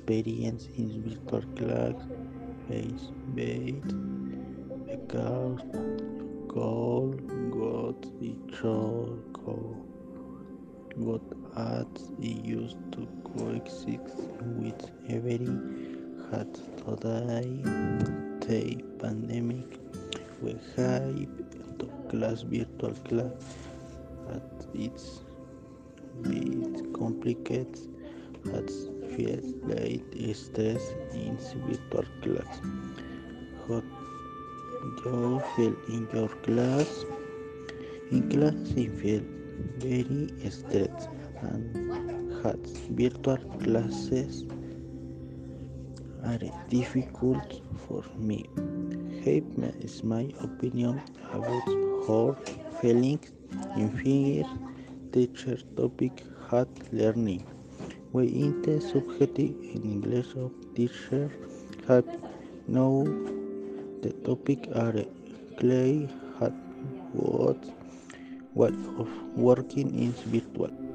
experience in virtual class face-based because goal got each other what ads used to coexist with every had today. The pandemic we hype to class virtual class at its bit complicates at feels like stress in virtual class. How you feel in your class? In class I feel very stressed and had virtual classes are difficult for me. Here is my opinion about her feelings in figure teacher topic had learning. We in the subject in English of teacher have know the topic are clay had what of working in virtual.